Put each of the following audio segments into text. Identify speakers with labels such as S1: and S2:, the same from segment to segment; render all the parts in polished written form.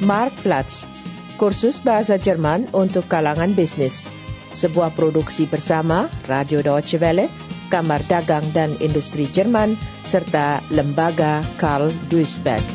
S1: Marktplatz, kursus bahasa Jerman untuk kalangan bisnis. Sebuah produksi bersama Radio Deutsche Welle, Kamar Dagang dan Industri Jerman, serta Lembaga Karl Duisberg.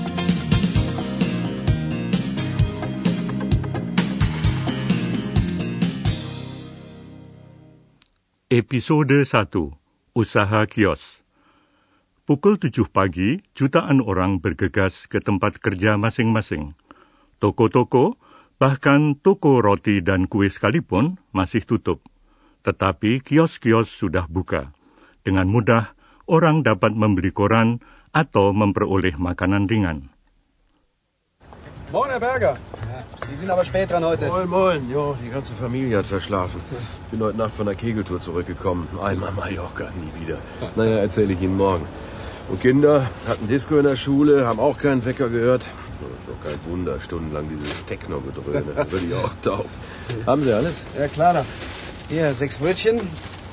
S2: Episode 1. Usaha kios. Pukul 7 pagi, jutaan orang bergegas ke tempat kerja masing-masing. Toko-toko, bahkan toko roti dan kue sekalipun masih tutup. Tetapi kios-kios sudah buka. Dengan mudah, orang dapat membeli koran atau memperoleh makanan ringan.
S3: Moin, Herr Berger. Sie sind aber spät dran heute.
S4: Moin, moin. Jo, die ganze Familie hat verschlafen. Bin heute Nacht von der Kegeltour zurückgekommen. Einmal Mallorca, nie wieder. Naja, erzähle ich Ihnen morgen. Und Kinder hatten Disco in der Schule, haben auch keinen Wecker gehört. Ist doch kein Wunder, stundenlang dieses Techno-Gedröhne. Da würde ich auch taub. Haben Sie alles?
S3: Ja, klar. Hier, 6 Brötchen,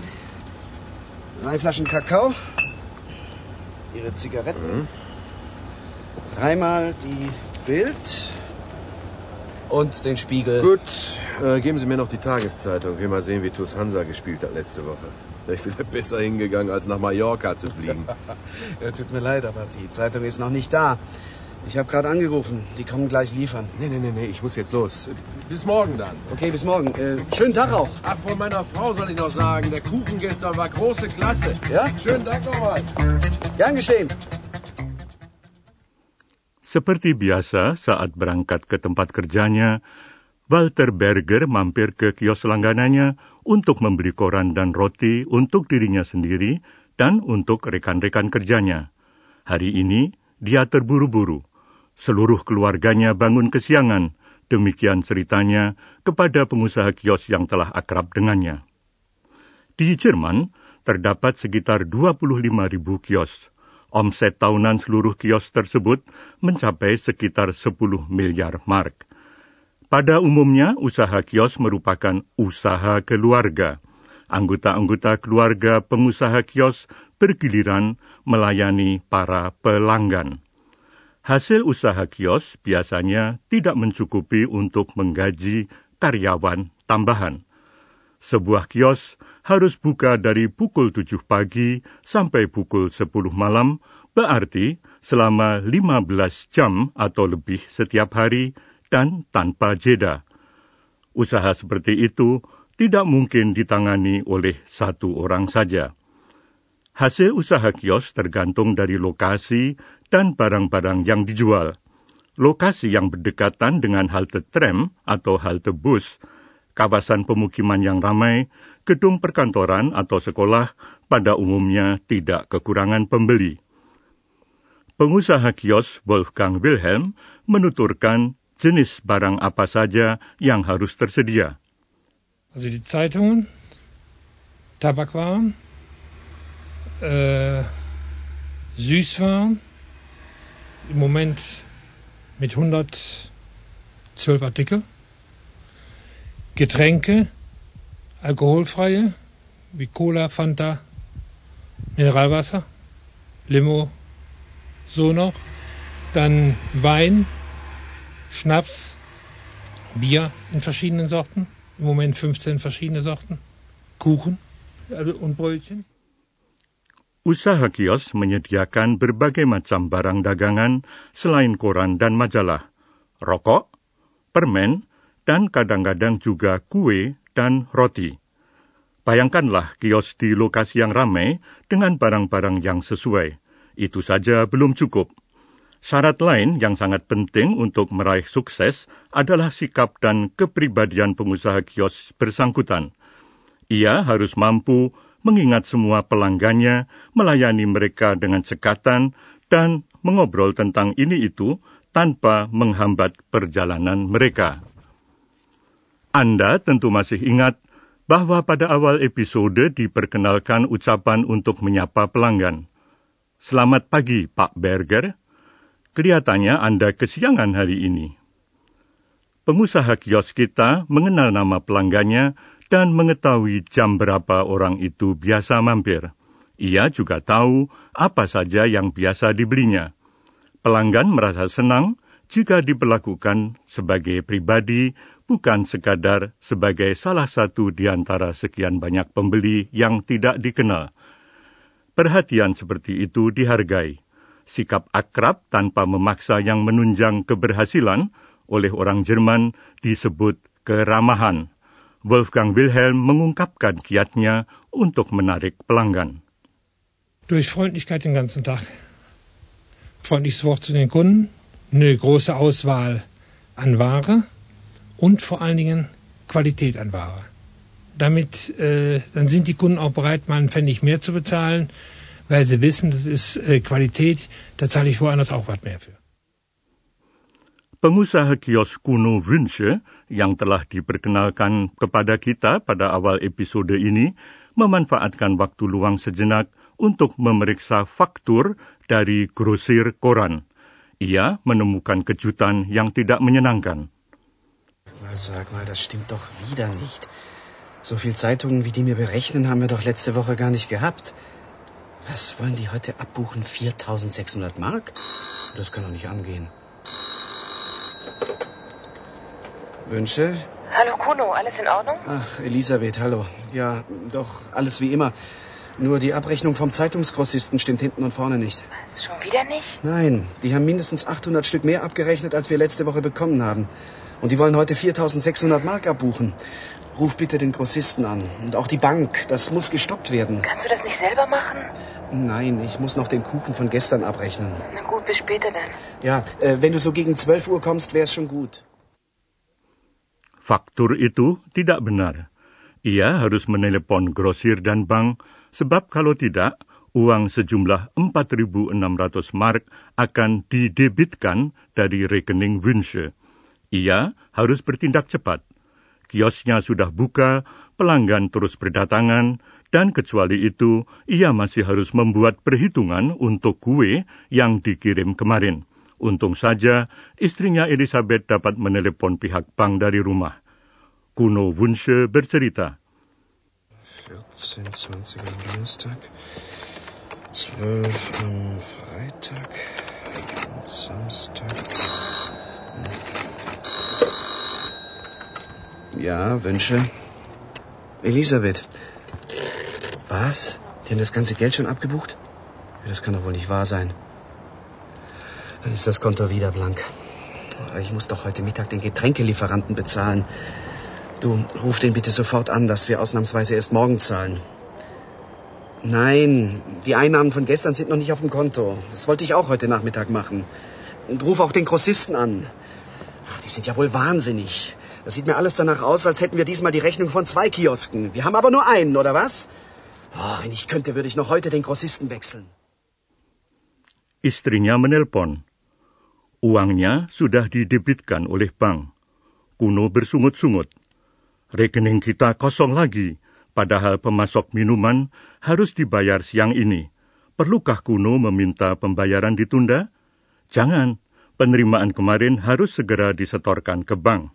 S3: 3 Flaschen Kakao, Ihre Zigaretten, 3-mal die Bild und den Spiegel.
S4: Gut, geben Sie mir noch die Tageszeitung. Ich will mal sehen, wie TuS Hansa gespielt hat letzte Woche. Wäre ich vielleicht besser hingegangen, als nach Mallorca zu fliegen.
S3: Ja, tut mir leid, aber die Zeitung ist noch nicht da. Ich habe gerade angerufen. Die kommen gleich liefern.
S4: Nee, ich muss jetzt los. Bis morgen dann.
S3: Okay, bis morgen. Schönen Tag auch.
S4: Ach, von meiner Frau soll ich noch sagen, der Kuchen gestern war große Klasse.
S3: Ja?
S4: Schönen Dank nochmal.
S3: Gern geschehen.
S2: Seperti biasa, saat berangkat ke tempat kerjanya, Walter Berger mampir ke kios langganannya untuk membeli koran dan roti untuk dirinya sendiri dan untuk rekan-rekan kerjanya. Hari ini, dia terburu-buru. Seluruh keluarganya bangun kesiangan, demikian ceritanya kepada pengusaha kios yang telah akrab dengannya. Di Jerman, terdapat sekitar 25.000 kios. Omset tahunan seluruh kios tersebut mencapai sekitar 10 miliar mark. Pada umumnya, usaha kios merupakan usaha keluarga. Anggota-anggota keluarga pengusaha kios bergiliran melayani para pelanggan. Hasil usaha kios biasanya tidak mencukupi untuk menggaji karyawan tambahan. Sebuah kios harus buka dari pukul 7 pagi sampai pukul 10 malam, berarti selama 15 jam atau lebih setiap hari dan tanpa jeda. Usaha seperti itu tidak mungkin ditangani oleh satu orang saja. Hasil usaha kios tergantung dari lokasi dan barang-barang yang dijual. Lokasi yang berdekatan dengan halte tram atau halte bus, kawasan pemukiman yang ramai, gedung perkantoran atau sekolah pada umumnya tidak kekurangan pembeli. Pengusaha kios Wolfgang Wilhelm menuturkan jenis barang apa saja yang harus tersedia.
S5: Also die Zeitungen, Tabakwaren, Süßwaren, im Moment mit 112 Artikel. Getränke, alkoholfreie, wie Cola, Fanta, Mineralwasser, Limo, so noch. Dann Wein, Schnaps, Bier in verschiedenen Sorten, im Moment 15 verschiedene Sorten, Kuchen und Brötchen.
S2: Usaha kios menyediakan berbagai macam barang dagangan selain koran dan majalah, rokok, permen, dan kadang-kadang juga kue dan roti. Bayangkanlah kios di lokasi yang ramai dengan barang-barang yang sesuai. Itu saja belum cukup. Syarat lain yang sangat penting untuk meraih sukses adalah sikap dan kepribadian pengusaha kios bersangkutan. Ia harus mampu mengingat semua pelanggannya, melayani mereka dengan cekatan, dan mengobrol tentang ini itu tanpa menghambat perjalanan mereka. Anda tentu masih ingat bahwa pada awal episode diperkenalkan ucapan untuk menyapa pelanggan. Selamat pagi, Pak Berger. Kelihatannya Anda kesiangan hari ini. Pengusaha kios kita mengenal nama pelanggannya dan mengetahui jam berapa orang itu biasa mampir. Ia juga tahu apa saja yang biasa dibelinya. Pelanggan merasa senang jika diberlakukan sebagai pribadi, bukan sekadar sebagai salah satu di antara sekian banyak pembeli yang tidak dikenal. Perhatian seperti itu dihargai. Sikap akrab tanpa memaksa yang menunjang keberhasilan oleh orang Jerman disebut keramahan. Wolfgang Wilhelm mengungkapkan kiatnya untuk menarik pelanggan.
S5: Durch Freundlichkeit den ganzen Tag. Freundliches Wort zu den Kunden, eine große Auswahl an Ware und vor allen Dingen Qualität an Ware. Damit dann sind die Kunden auch bereit, mal einen Pfennig mehr zu bezahlen, weil sie wissen, das ist Qualität, da zahle ich woanders auch was mehr für.
S2: Pengusaha kios kuno Wünsche yang telah diperkenalkan kepada kita pada awal episode ini memanfaatkan waktu luang sejenak untuk memeriksa faktur dari grosir koran. Ia menemukan kejutan yang tidak menyenangkan.
S3: Sag mal, das stimmt doch wieder nicht. So viel Zeitungen, wie die mir berechnen, haben wir doch letzte Woche gar nicht gehabt. Was wollen die heute abbuchen? 4.600 Mark? Das kann doch nicht angehen. Wünsche?
S6: Hallo Kuno, alles in Ordnung?
S3: Ach, Elisabeth, hallo. Ja, doch, alles wie immer. Nur die Abrechnung vom Zeitungsgrossisten stimmt hinten und vorne nicht.
S6: Was, schon wieder nicht?
S3: Nein, die haben mindestens 800 Stück mehr abgerechnet, als wir letzte Woche bekommen haben. Und die wollen heute 4.600 Mark abbuchen. Ruf bitte den Grossisten an. Und auch die Bank, das muss gestoppt werden.
S6: Kannst du das nicht selber machen?
S3: Nein, ich muss noch den Kuchen von gestern abrechnen.
S6: Na gut, bis später dann.
S3: Ja, wenn du so gegen 12 Uhr kommst, wär's schon gut.
S2: Faktur itu tidak benar. Ia harus menelepon grosir dan bank, sebab kalau tidak, uang sejumlah 4.600 mark akan didebitkan dari rekening Wünsche. Ia harus bertindak cepat. Kiosnya sudah buka, pelanggan terus berdatangan, dan kecuali itu, ia masih harus membuat perhitungan untuk kue yang dikirim kemarin. Untung saja, istrinya Elisabeth dapat menelepon pihak bank dari rumah. Kuno Wünsche bercerita.
S3: 14.20 am Donnerstag, 12 am Freitag und Samstag. Ja, Wünsche. Elisabeth. Was? Die haben das ganze Geld schon abgebucht? Das kann doch wohl nicht wahr sein. Dann ist das Konto wieder blank. Ich muss doch heute Mittag den Getränkelieferanten bezahlen. Du, ruf den bitte sofort an, dass wir ausnahmsweise erst morgen zahlen. Nein, die Einnahmen von gestern sind noch nicht auf dem Konto. Das wollte ich auch heute Nachmittag machen. Und ruf auch den Grossisten an. Ach, die sind ja wohl wahnsinnig. Das sieht mir alles danach aus, als hätten wir diesmal die Rechnung von 2 Kiosken. Wir haben aber nur einen, oder was? Oh, wenn ich könnte, würde ich noch heute den Grossisten wechseln.
S2: Istrinya menelpon. Uangnya sudah didebitkan oleh bank. Kuno bersungut-sungut. Rekening kita kosong lagi, padahal pemasok minuman harus dibayar siang ini. Perlukah Kuno meminta pembayaran ditunda? Jangan, penerimaan kemarin harus segera disetorkan ke bank.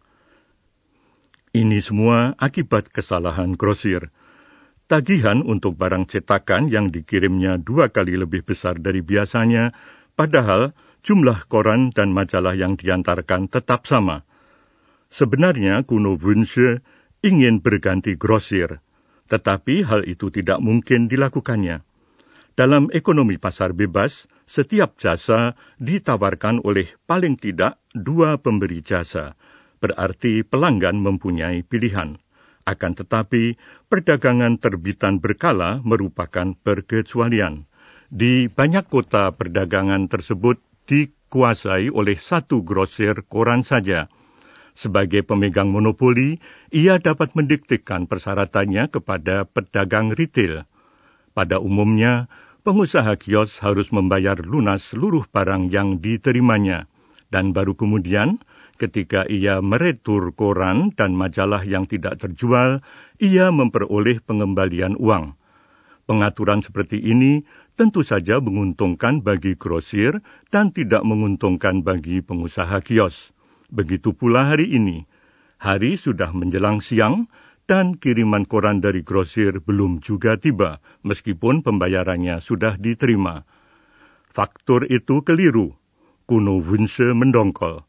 S2: Ini semua akibat kesalahan grosir. Tagihan untuk barang cetakan yang dikirimnya 2 kali lebih besar dari biasanya, padahal jumlah koran dan majalah yang diantarkan tetap sama. Sebenarnya Kuno Wünsche ingin berganti grosir, tetapi hal itu tidak mungkin dilakukannya. Dalam ekonomi pasar bebas, setiap jasa ditawarkan oleh paling tidak 2 pemberi jasa, berarti pelanggan mempunyai pilihan. Akan tetapi, perdagangan terbitan berkala merupakan perkecualian. Di banyak kota perdagangan tersebut dikuasai oleh 1 grosir koran saja. Sebagai pemegang monopoli, ia dapat mendiktekan persyaratannya kepada pedagang retail. Pada umumnya, pengusaha kios harus membayar lunas seluruh barang yang diterimanya, dan baru kemudian, ketika ia meretur koran dan majalah yang tidak terjual, ia memperoleh pengembalian uang. Pengaturan seperti ini tentu saja menguntungkan bagi grosir dan tidak menguntungkan bagi pengusaha kios. Begitu pula hari ini. Hari sudah menjelang siang dan kiriman koran dari grosir belum juga tiba, meskipun pembayarannya sudah diterima. Faktur itu keliru. Kuno Wünsche mendongkol.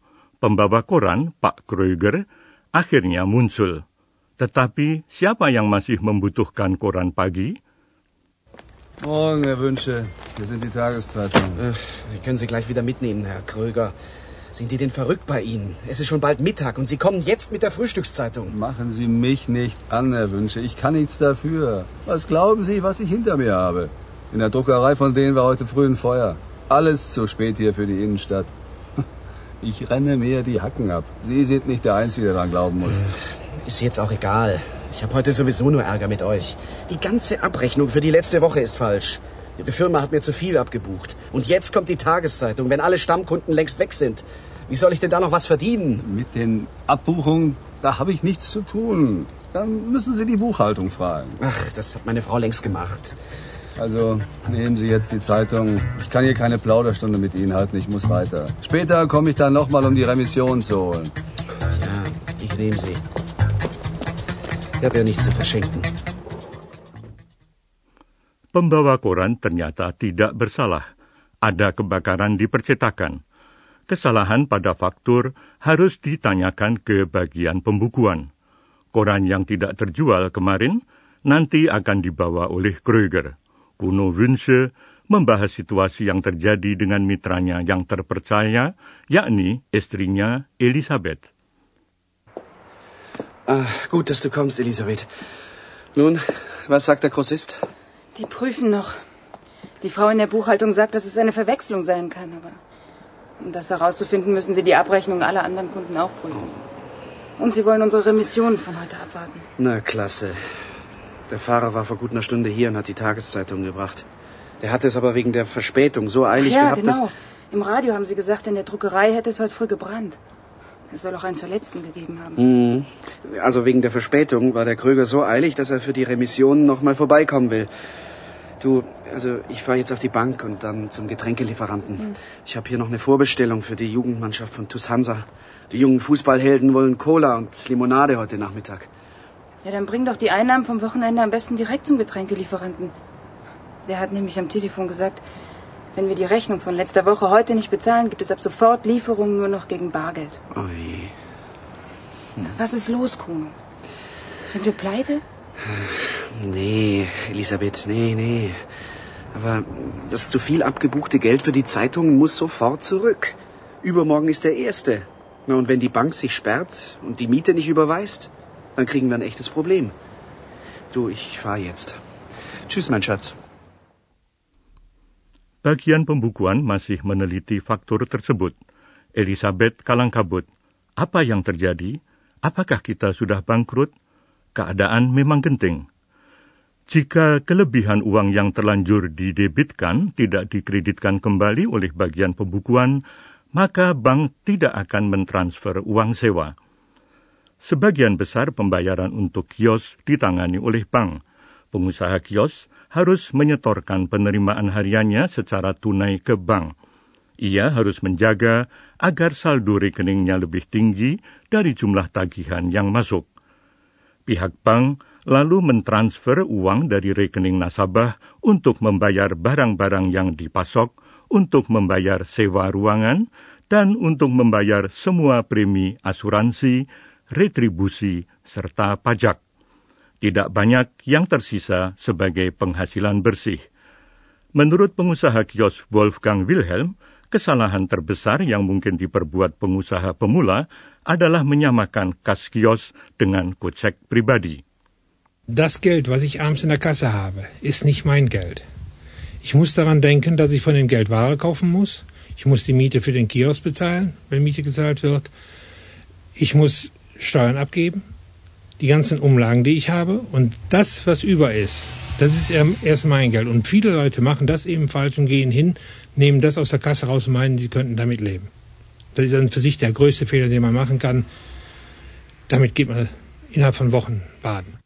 S2: pembawa koran, Pak Kreuger, akhirnya muncul. Tetapi siapa yang masih membutuhkan koran pagi?
S7: Morgen, Herr Wünsche. Hier sind die Tageszeitungen.
S3: Sie können sie gleich wieder mitnehmen, Herr Kröger. Sind die denn verrückt bei Ihnen? Es ist schon bald Mittag und Sie kommen jetzt mit der Frühstückszeitung.
S7: Machen Sie mich nicht an, Herr Wünsche. Ich kann nichts dafür. Was glauben Sie, was ich hinter mir habe? In der Druckerei von denen war heute früh ein Feuer. Alles zu spät hier für die Innenstadt. Ich renne mir die Hacken ab. Sie sind nicht der Einzige, der daran glauben muss.
S3: Ist jetzt auch egal. Ich habe heute sowieso nur Ärger mit euch. Die ganze Abrechnung für die letzte Woche ist falsch. Ihre Firma hat mir zu viel abgebucht. Und jetzt kommt die Tageszeitung, wenn alle Stammkunden längst weg sind. Wie soll ich denn da noch was verdienen?
S7: Mit den Abbuchungen, da habe ich nichts zu tun. Dann müssen Sie die Buchhaltung fragen.
S3: Ach, das hat meine Frau längst gemacht.
S7: Also, nehmen Sie jetzt die Zeitung. Ich kann hier keine Plauderstunde mit Ihnen halten, ich muss weiter. Später komme ich dann nochmal, um die Remission zu holen.
S3: Ja, ich nehme sie. Ich habe ja nichts zu verschenken.
S2: Pembawa koran ternyata tidak bersalah. Ada kebakaran di percetakan. Kesalahan pada faktur harus ditanyakan ke bagian pembukuan. Koran yang tidak terjual kemarin nanti akan dibawa oleh Kreuger. Kuno Wünsche membahas situasi yang terjadi dengan mitranya yang terpercaya, yakni istrinya Elisabeth.
S3: Gut, dass du kommst, Elisabeth. Nun, was sagt der Grossist?
S6: Die prüfen noch. Die Frau in der Buchhaltung sagt, dass es eine Verwechslung sein kann, aber um das herauszufinden, müssen sie die Abrechnung aller anderen Kunden auch prüfen. Und sie wollen unsere Remission von heute abwarten.
S3: Na, klasse. Der Fahrer war vor gut einer Stunde hier und hat die Tageszeitung gebracht. Der hatte es aber wegen der Verspätung so eilig gehabt,
S6: genau. Im Radio haben sie gesagt, in der Druckerei hätte es heute früh gebrannt. Es soll auch einen Verletzten gegeben haben.
S3: Also wegen der Verspätung war der Kröger so eilig, dass er für die Remission noch mal vorbeikommen will. Du, also ich fahre jetzt auf die Bank und dann zum Getränkelieferanten. Ich habe hier noch eine Vorbestellung für die Jugendmannschaft von TuS Hansa. Die jungen Fußballhelden wollen Cola und Limonade heute Nachmittag.
S6: Ja, dann bring doch die Einnahmen vom Wochenende am besten direkt zum Getränkelieferanten. Der hat nämlich am Telefon gesagt, wenn wir die Rechnung von letzter Woche heute nicht bezahlen, gibt es ab sofort Lieferungen nur noch gegen Bargeld.
S3: Oh je.
S6: Was ist los, Kuno? Sind wir pleite?
S3: Nee, Elisabeth, nee. Aber das zu viel abgebuchte Geld für die Zeitung muss sofort zurück. Übermorgen ist der 1. Na, und wenn die Bank sich sperrt und die Miete nicht überweist, dann kriegen wir ein echtes Problem. Du, ich fahr jetzt. Tschüss, mein Schatz.
S2: Bagian pembukuan masih meneliti faktur tersebut. Elisabeth kalang kabut. Apa yang terjadi? Apakah kita sudah bangkrut? Keadaan memang genting. Jika kelebihan uang yang terlanjur didebitkan tidak dikreditkan kembali oleh bagian pembukuan, maka bank tidak akan mentransfer uang sewa. Sebagian besar pembayaran untuk kios ditangani oleh bank. Pengusaha kios harus menyetorkan penerimaan hariannya secara tunai ke bank. Ia harus menjaga agar saldo rekeningnya lebih tinggi dari jumlah tagihan yang masuk. Pihak bank lalu mentransfer uang dari rekening nasabah untuk membayar barang-barang yang dipasok, untuk membayar sewa ruangan, dan untuk membayar semua premi asuransi, retribusi, serta pajak. Tidak banyak yang tersisa sebagai penghasilan bersih. Menurut pengusaha kios Wolfgang Wilhelm, kesalahan terbesar yang mungkin diperbuat pengusaha pemula adalah menyamakan kas kios dengan kocek pribadi.
S5: Das Geld, was ich abends in der Kasse habe, ist nicht mein Geld. Ich muss daran denken, dass ich von dem Geld Ware kaufen muss. Ich muss die Miete für den Kiosk bezahlen, wenn Miete gezahlt wird. Ich muss Steuern abgeben, die ganzen Umlagen, die ich habe. Und das, was über ist, das ist erst mein Geld. Und viele Leute machen das eben falsch und gehen hin, nehmen das aus der Kasse raus und meinen, sie könnten damit leben. Das ist dann für sich der größte Fehler, den man machen kann. Damit geht man innerhalb von Wochen baden.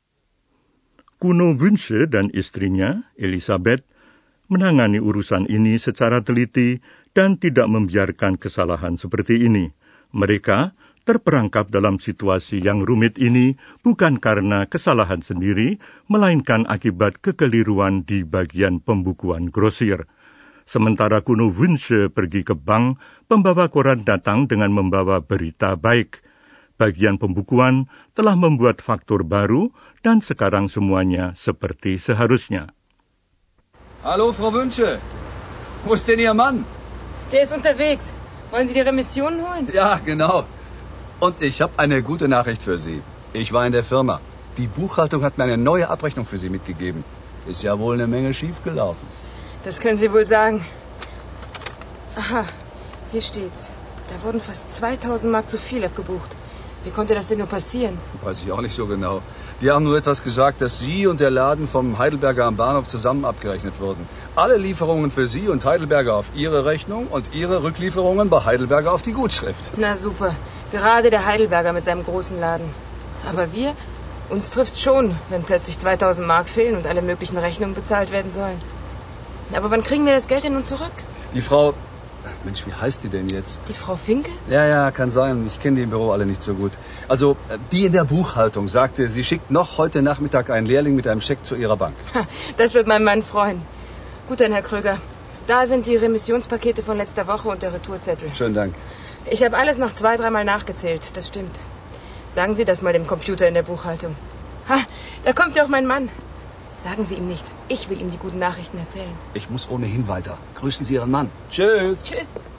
S2: Kuno Wünsche dan istrinya, Elisabeth, menangani urusan ini secara teliti dan tidak membiarkan kesalahan seperti ini. Mereka terperangkap dalam situasi yang rumit ini bukan karena kesalahan sendiri, melainkan akibat kekeliruan di bagian pembukuan grosir. Sementara Kuno Wünsche pergi ke bank, pembawa koran datang dengan membawa berita baik. Bagian pembukuan telah membuat faktur baru dan sekarang semuanya seperti seharusnya.
S7: Hallo, Frau Wünsche. Wo ist denn Ihr Mann?
S6: Der ist unterwegs. Wollen Sie die Remissionen holen?
S7: Ja, genau. Und ich habe eine gute Nachricht für Sie. Ich war in der Firma. Die Buchhaltung hat mir eine neue Abrechnung für Sie mitgegeben. Ist ja wohl eine Menge schiefgelaufen.
S6: Das können Sie wohl sagen. Aha, hier steht's. Da wurden fast 2000 Mark zu viel abgebucht. Wie konnte das denn nur passieren?
S7: Weiß ich auch nicht so genau. Die haben nur etwas gesagt, dass Sie und der Laden vom Heidelberger am Bahnhof zusammen abgerechnet wurden. Alle Lieferungen für Sie und Heidelberger auf Ihre Rechnung und Ihre Rücklieferungen bei Heidelberger auf die Gutschrift.
S6: Na super. Gerade der Heidelberger mit seinem großen Laden. Aber wir? Uns trifft's schon, wenn plötzlich 2000 Mark fehlen und alle möglichen Rechnungen bezahlt werden sollen. Aber wann kriegen wir das Geld denn nun zurück?
S7: Die Frau... Mensch, wie heißt die denn jetzt?
S6: Die Frau Finke?
S7: Ja, kann sein. Ich kenne die im Büro alle nicht so gut. Also, die in der Buchhaltung sagte, sie schickt noch heute Nachmittag einen Lehrling mit einem Scheck zu ihrer Bank.
S6: Das wird mein Mann freuen. Gut dann, Herr Kröger. Da sind die Remissionspakete von letzter Woche und der Retourzettel.
S7: Schönen Dank.
S6: Ich habe alles noch 2-3 Mal nachgezählt. Das stimmt. Sagen Sie das mal dem Computer in der Buchhaltung. Ha, da kommt ja auch mein Mann. Sagen Sie ihm nichts. Ich will ihm die guten Nachrichten erzählen.
S7: Ich muss ohnehin weiter. Grüßen Sie Ihren Mann. Tschüss.
S6: Tschüss.